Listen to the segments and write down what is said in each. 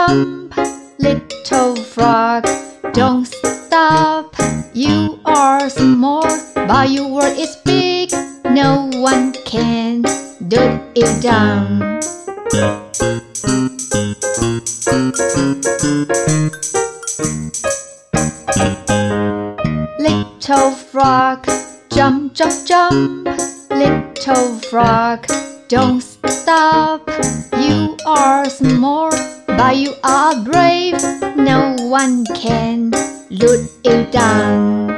jump, little frog, don't stop. You are small, but your world is big. No one can do it down. Little frog, jump, jump, jump. Little frog, don't stop. You are small, but you are brave. No one can loot it down.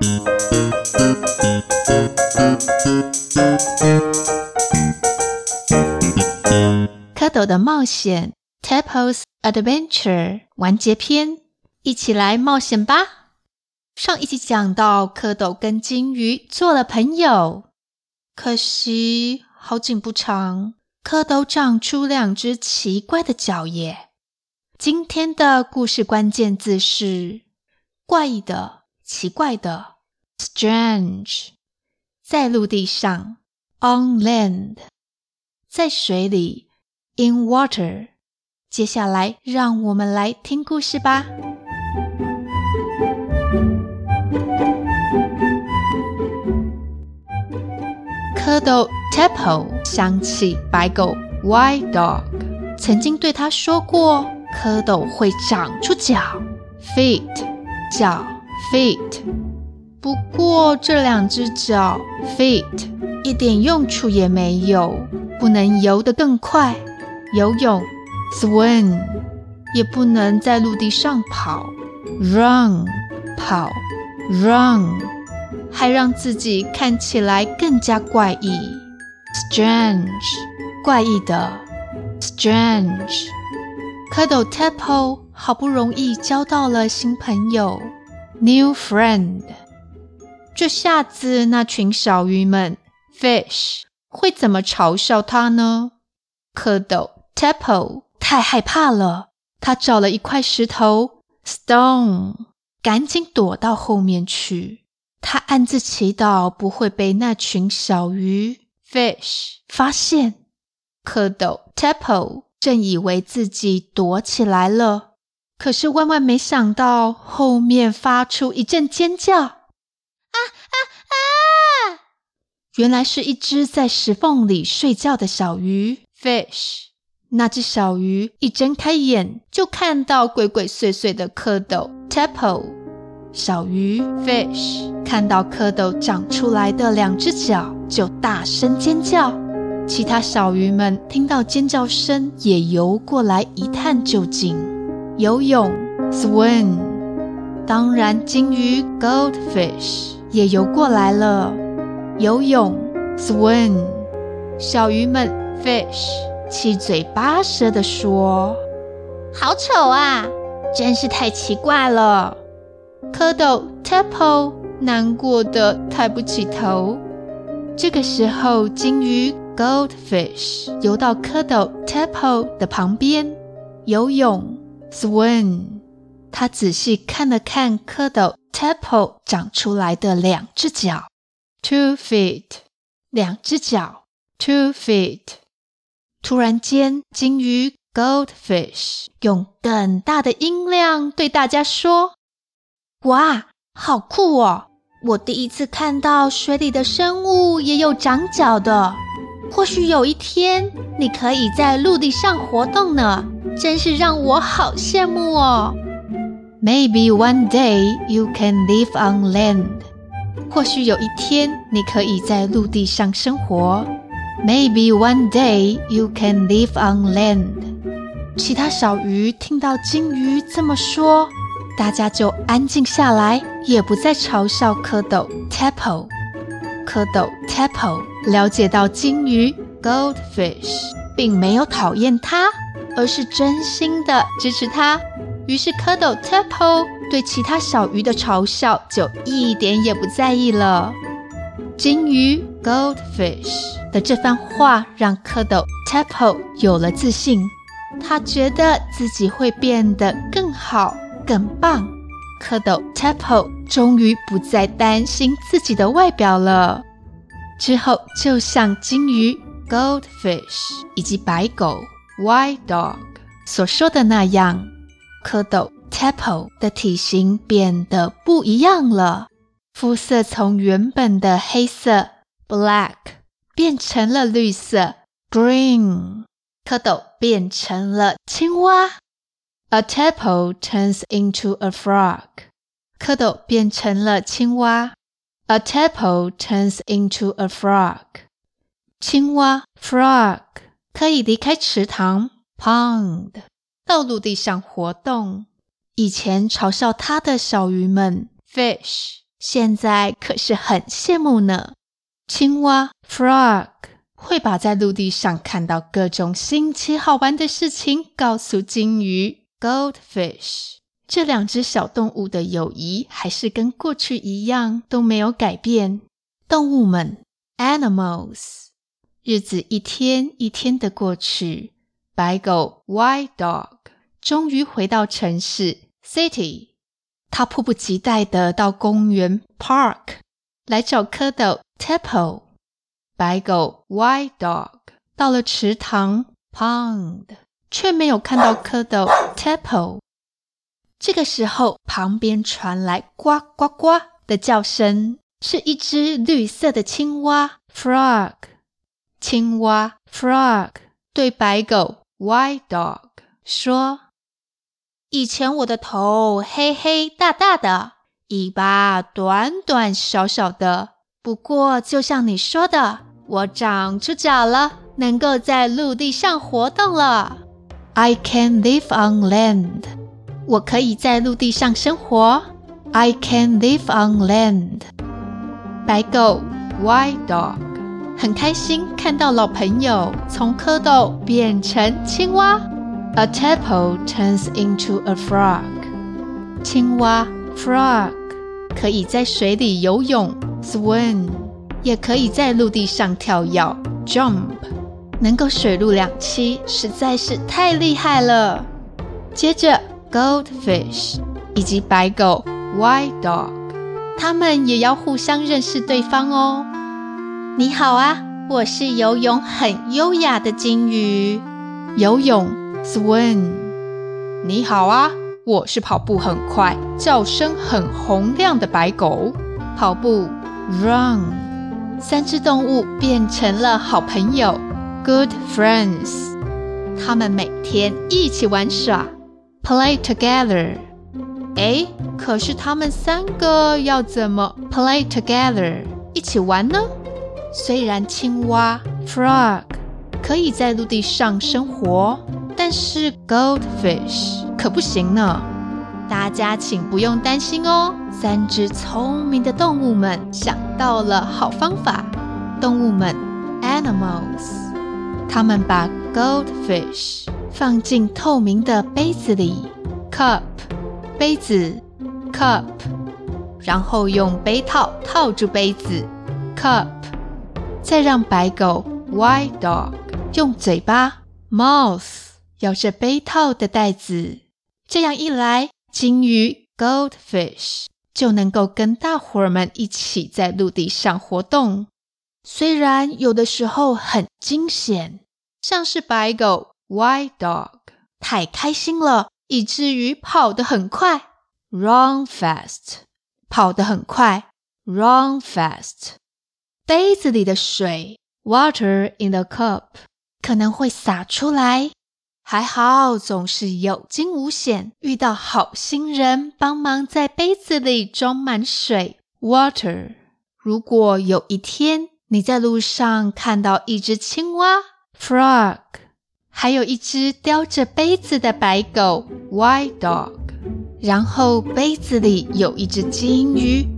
蝌蚪的冒險 Tadpole's Adventure 完結篇，一起來冒險吧。上一集講到蝌蚪跟鯨魚做了朋友，可惜好景不長，蝌蚪長出2隻奇怪的腳耶。今天的故事關鍵字是怪異的、奇怪的 strange。 在陸地上 on land， 在水裡 in water。 接下來讓我們來聽故事吧。蝌蚪 Tadpole 想起白狗 White Dog 曾經對他說過，蝌蚪會長出腳 feet， 腳 feet。 不過這2隻腳 feet 一點用處也沒有，不能游得更快游泳 swim， 也不能在陸地上跑 run， 跑 run，還讓自己看起來更加怪異 strange， 怪異的 strange。 蝌蚪 Tadpole 好不容易交到了新朋友 new friend， 這下子那群小魚們 fish 會怎麼嘲笑他呢？蝌蚪 Tadpole 太害怕了，他找了一塊石頭 stone， 趕緊躲到後面去。他暗自祈禱不會被那群小魚 fish 發現。蝌蚪 Tadpole 正以為自己躲起來了，可是萬萬沒想到後面發出一陣尖叫，啊啊啊！原來是一隻在石縫裡睡覺的小魚 fish。 那隻小魚一睜開眼就看到鬼鬼祟祟的蝌蚪 Tadpole。小魚 fish 看到蝌蚪長出來的2隻腳就大聲尖叫，其他小魚們聽到尖叫聲也游過來一探究竟。游泳 swim， 當然鯨魚 goldfish 也游過來了，游泳 swim。 小魚們 fish 七嘴八舌地說，好醜啊，真是太奇怪了。蝌蚪 Tadpole 難過的抬不起頭。這個時候鯨魚 goldfish 游到蝌蚪 Tadpole 的旁邊，游泳 swim。 他仔細看了看蝌蚪 Tadpole 長出來的2隻腳 2 feet， 2隻腳 2 feet。 突然間鯨魚 goldfish 用更大的音量對大家說，哇，好酷哦！我第一次看到水裡的生物也有長腳的。或許有一天你可以在陸地上活動呢，真是讓我好羨慕哦。Maybe one day you can live on land。 或許有一天你可以在陸地上生活。Maybe one day you can live on land。 其他小魚聽到鯨魚這麼說，大家就安靜下來，也不再嘲笑蝌蚪 Tadpole。 蝌蚪 Tadpole 了解到鯨魚 goldfish 並沒有討厭他，而是真心的支持他。於是蝌蚪 Tadpole 對其他小魚的嘲笑就一點也不在意了。鯨魚 goldfish 的這番話讓蝌蚪 Tadpole 有了自信，他覺得自己會變得更好更棒。蝌蚪 Tadpole 終於不再擔心自己的外表了。之後就像鯨魚 goldfish 以及白狗 white dog 所說的那樣，蝌蚪 Tadpole 的體型變得不一樣了，膚色從原本的黑色 Black 變成了綠色 Green， 蝌蚪變成了青蛙。A tadpole turns into a frog， 蝌蚪變成了青蛙。A tadpole turns into a frog， 青蛙 Frog 可以離開池塘 Pond， 到陸地上活動。以前嘲笑它的小魚們 Fish， 現在可是很羨慕呢。青蛙 Frog 會把在陸地上看到各種新奇好玩的事情告訴金魚 Goldfish。 這兩隻小動物的友誼還是跟過去一樣都沒有改變。動物們 Animals。 日子一天一天的過去，白狗 White Dog 終於回到城市 City。 他迫不及待地到公園 Park 來找蝌蚪 Tadpole。 白狗 White Dog 到了池塘 Pond， 卻沒有看到蝌蚪 Tadpole。 這個時候旁邊傳來呱呱呱的叫聲，是一隻綠色的青蛙 Frog。 青蛙 Frog 對白狗 White Dog 說，以前我的頭黑黑大大的，尾巴短短小小的，不過就像你說的，我長出腳了，能夠在陸地上活動了。 I can live on land， 我可以在陸地上生活。 I can live on land。 白狗 White Dog 很開心看到老朋友從蝌蚪變成青蛙。 A tadpole turns into a frog。 青蛙 Frog 可以在水裡游泳 Swim， 也可以在陸地上跳躍 Jump， 能夠水陸兩棲，實在是太厲害了。接着 Goldfish 以及白狗 White Dog， 他們也要互相認識對方哦。你好啊，我是游泳很優雅的金魚。游泳 Swim。 你好啊，我是跑步很快，叫聲很洪亮的白狗。跑步 Run。 三隻動物變成了好朋友 Good friends。 他們每天一起玩耍 Play together。 可是他們三個要怎麼 Play together 一起玩呢？雖然青蛙 Frog 可以在陸地上生活，但是 Goldfish 可不行呢。大家請不用擔心哦，三隻聰明的動物們想到了好方法。動物們 Animals， 他們把 Goldfish 放進透明的杯子裡 Cup， 杯子 Cup， 然後用杯套套住杯子 Cup，再讓白狗 White Dog 用嘴巴 Mouth 咬着杯套的帶子。這樣一來，金魚 Goldfish 就能夠跟大夥兒們一起在陸地上活動。雖然有的時候很驚險，像是白狗 White Dog 太開心了，以至於跑得很快 Run fast， 跑得很快 Run fast。杯子裡的水 Water in the cup 可能會灑出來，還好總是有驚無險，遇到好心人幫忙在杯子裡裝滿水 Water。 如果有一天你在路上看到一隻青蛙 Frog， 還有一隻叼着杯子的白狗 White Dog， 然後杯子裡有一隻金魚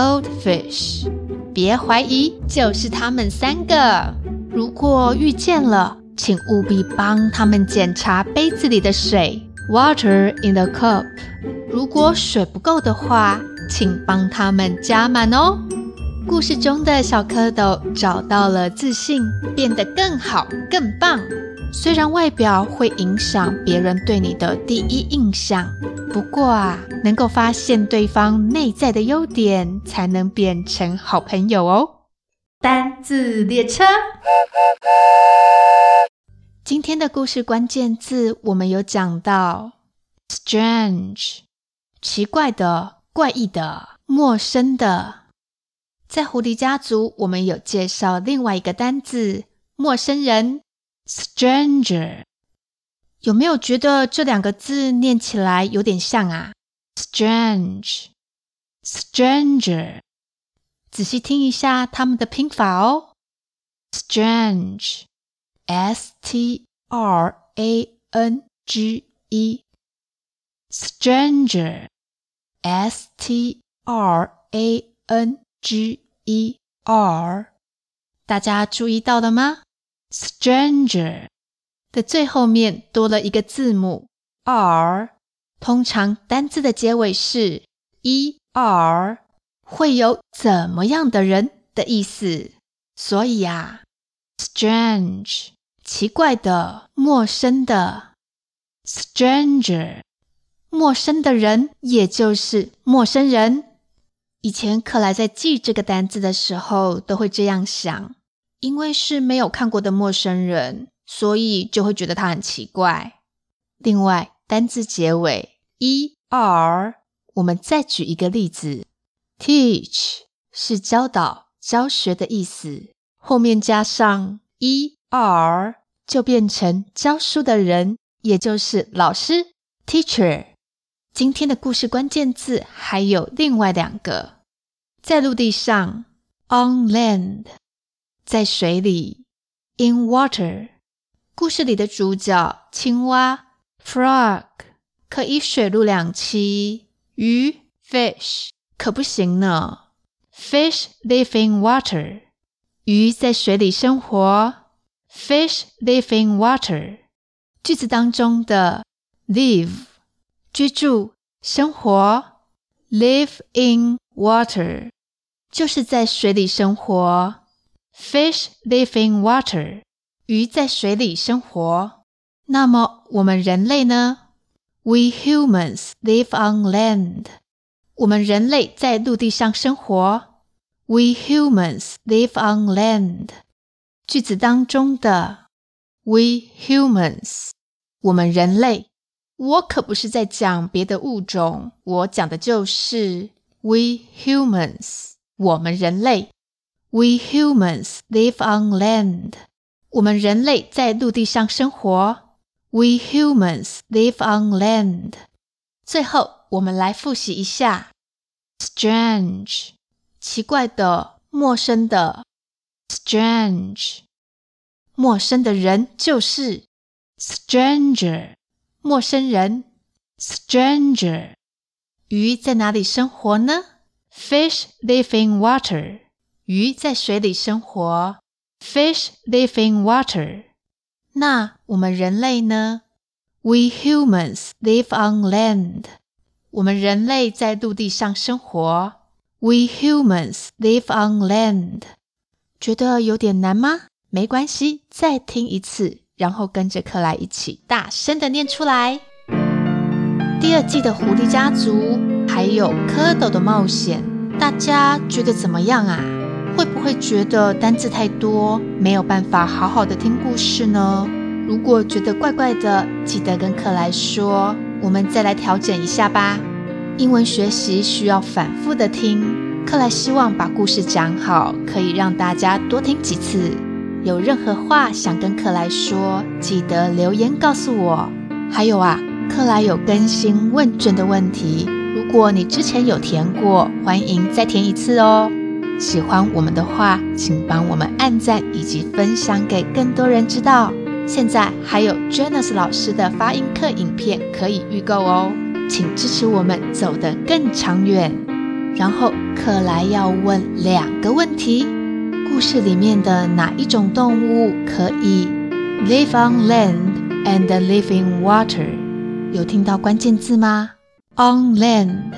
Goldfish，別懷疑，就是他們三個。如果遇見了，請務必幫他們檢查杯子裡的水 Water in the cup。 如果水不夠的話，請幫他們加滿哦。故事中的小蝌蚪找到了自信，變得更好更棒。雖然外表會影響別人對你的第一印象，不過能夠發現對方內在的優點，才能變成好朋友哦。單字列車， 今天的故事關鍵字我們有講到 strange， 奇怪的、怪異的、陌生的。在狐狸家族，我們有介紹另外一個單字陌生人 stranger。 有沒有覺得這兩個字念起來有點像啊？ strange stranger， 仔細聽一下它們的拼法哦。 strange S-T-R-A-N-G-E stranger S-T-R-A-N-G-E-R， 大家注意到了嗎？ stranger 的最後面多了一個字母 R， 通常單字的結尾是 ER， 會有怎麼樣的人的意思。所以啊 strange 奇怪的、陌生的。 stranger 陌生的人，也就是陌生人。以前克萊在記這個單字的時候都會這樣想，因為是沒有看過的陌生人，所以就會覺得他很奇怪。另外單字結尾 ER， 我們再舉一個例子， teach 是教導、教學的意思，後面加上 ER 就變成教書的人，也就是老師 teacher。 今天的故事關鍵字還有另外兩個，在陸地上 on land， 在水裡 in water。 故事裡的主角青蛙 frog 可以水陸兩棲，魚 fish 可不行呢。 fish live in water， 魚在水裡生活， fish live in water。 句子當中的 live 居住、生活， live in water 就是在水裡生活， fish live in water 魚在水裡生活。那麼我們人類呢？ We humans live on land， 我們人類在陸地上生活， We humans live on land。 句子當中的 We humans 我們人類，我可不是在講別的物種，我講的就是 We humans 我們人類。 We humans live on land， 我們人類在陸地上生活， We humans live on land。 最後我們來複習一下 strange 奇怪的、陌生的。 strange 陌生的人就是 stranger， 陌生人 stranger。 魚在哪裡生活呢？ Fish live in water， 魚在水裡生活， Fish live in water。 那我們人類呢？ We humans live on land， 我們人類在陸地上生活， We humans live on land。 覺得有點難嗎？沒關係，再聽一次，然後跟着克萊一起大聲的念出來。第二季的狐狸家族還有蝌蚪的冒險，大家覺得怎麼樣啊？會不會覺得單字太多，沒有辦法好好的聽故事呢？如果覺得怪怪的，記得跟克萊說，我們再來調整一下吧。英文學習需要反覆的聽，克萊希望把故事講好，可以讓大家多聽幾次。有任何話想跟克萊說，記得留言告訴我。還有啊，克萊有更新問卷的問題，如果你之前有填過，歡迎再填一次哦。喜歡我們的話，請幫我們按讚以及分享給更多人知道。現在還有 Janice 老師的發音課影片可以預購哦，請支持我們走得更長遠。然後克萊要問2個問題，故事裡面的哪一種動物可以 live on land and live in water？ 有聽到關鍵字嗎？ On land,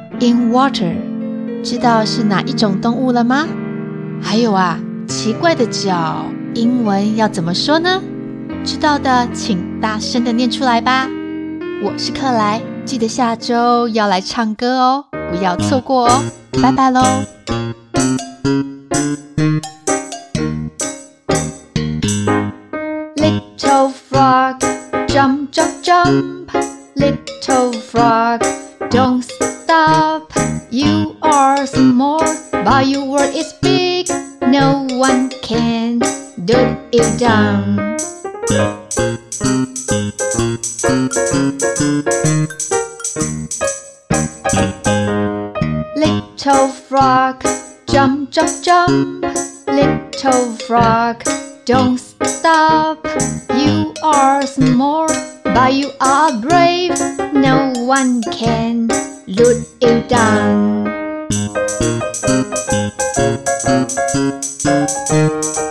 in water， 知道是哪一種動物了嗎？還有啊，奇怪的腳，英文要怎麼說呢？知道的請大聲的念出來吧。我是克萊，記得下周要來唱歌哦，不要錯過哦，拜拜嘍。Little jump. Little frog, don't stop. You are small, but your world is big. No one can do it down. Little frog, jump, jump, jump. Little frog, don't stop. You are small, but you are brave. No one can let you down.